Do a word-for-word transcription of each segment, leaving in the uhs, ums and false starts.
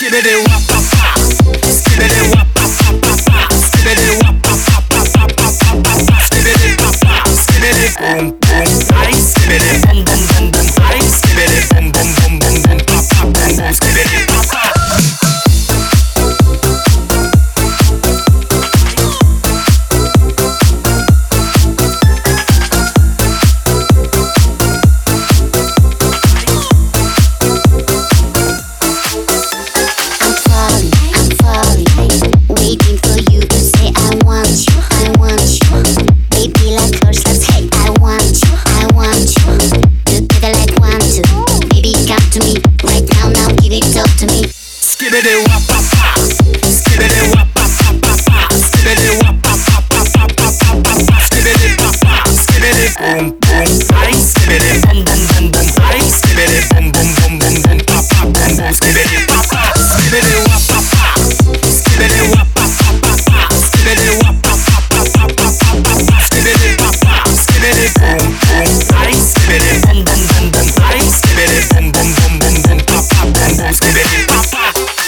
Skibbity wop pop pop, skibbity wop pop pop pop pop, skibbity wop pop pop pop pop pop pop pop, skibbity pop pop, skibbity boom boom, ay skibbity boom boom boom boom, ay skibbity boom boom boom boom boom, pop pop boom boom, skibbity pop pop. Skibbity wop pop pop, skibbity wop pop pop pop pop, skibbity wop pop pop pop pop pop pop pop, skibbity pop pop, skibbity boom boom, ay skibbity boom boom boom boom, ay skibbity boom boom boom boom boom, pop pop boom boom, skibbity pop pop, skibbity wop pop pop, skibbity wop pop pop pop pop, skibbity wop pop pop pop pop pop pop pop, skibbity pop pop, skibbity boom boom, ay skibbity boom boom boom boom, ay skibbity boom boom boom boom boom, pop pop boom boom, skibbity pop pop.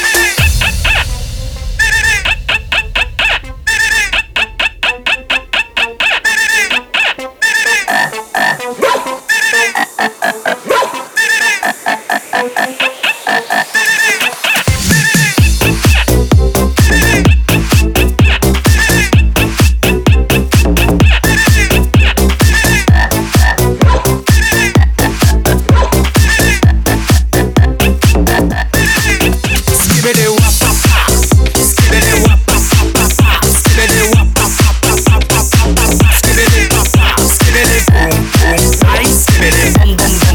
Skibbity wop pop pop, skibbity wop pop pop pop pop, skibbity wop pop pop pop pop pop pop pop, skibbity pop pop, skibbity boom boom, ay skibbity boom boom.